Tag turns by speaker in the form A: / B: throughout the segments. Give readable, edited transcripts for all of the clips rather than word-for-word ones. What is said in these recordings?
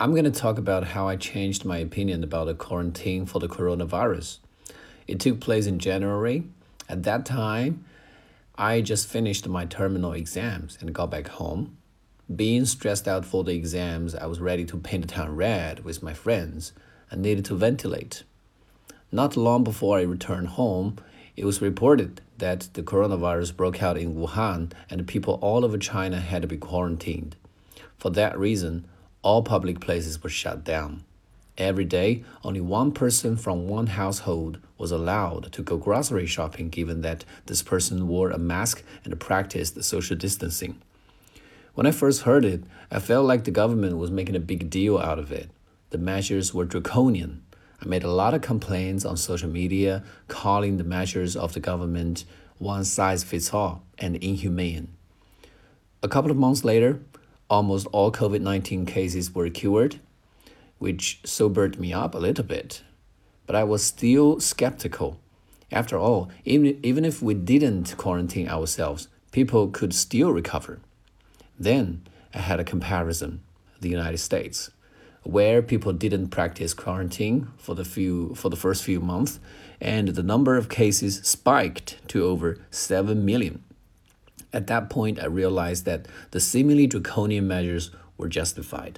A: I'm going to talk about how I changed my opinion about the quarantine for the coronavirus. It took place in January. At that time, I just finished my terminal exams and got back home. Being stressed out for the exams, I was ready to paint the town red with my friends and needed to ventilate. Not long before I returned home, it was reported that the coronavirus broke out in Wuhan and people all over China had to be quarantined. For that reason, all public places were shut down. Every day, only one person from one household was allowed to go grocery shopping, given that this person wore a mask and practiced social distancing. When I first heard it, I felt like the government was making a big deal out of it. The measures were draconian. I made a lot of complaints on social media, calling the measures of the government one size fits all and inhumane. A couple of months later, almost all COVID-19 cases were cured, which sobered me up a little bit. But I was still skeptical. After all, even if we didn't quarantine ourselves, people could still recover. Then I had a comparison, the United States, where people didn't practice quarantine for the first few months, and the number of cases spiked to over 7 million. At that point, I realized that the seemingly draconian measures were justified.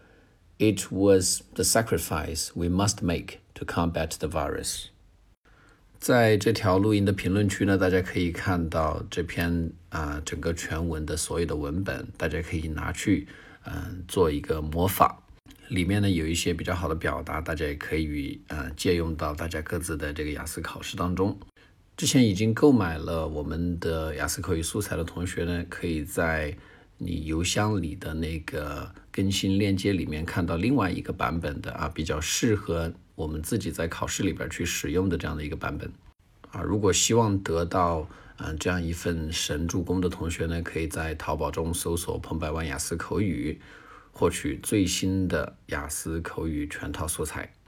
A: It was the sacrifice we must make to combat the virus. 在这条录音的评论区呢，大家可以看到这篇整个全文的所有的文本，大家可以拿去做一个模仿。里面呢有一些比较好的表达，大家也可以借用到大家各自的这个雅思考试当中。之前已经购买了我们的雅思口语素材的同学呢，可以在你邮箱里的那个更新链接里面看到另外一个版本的比较适合我们自己在考试里边去使用的这样的一个版本如果希望得到这样一份神助攻的同学呢，可以在淘宝中搜索彭百万雅思口语，获取最新的雅思口语全套素材。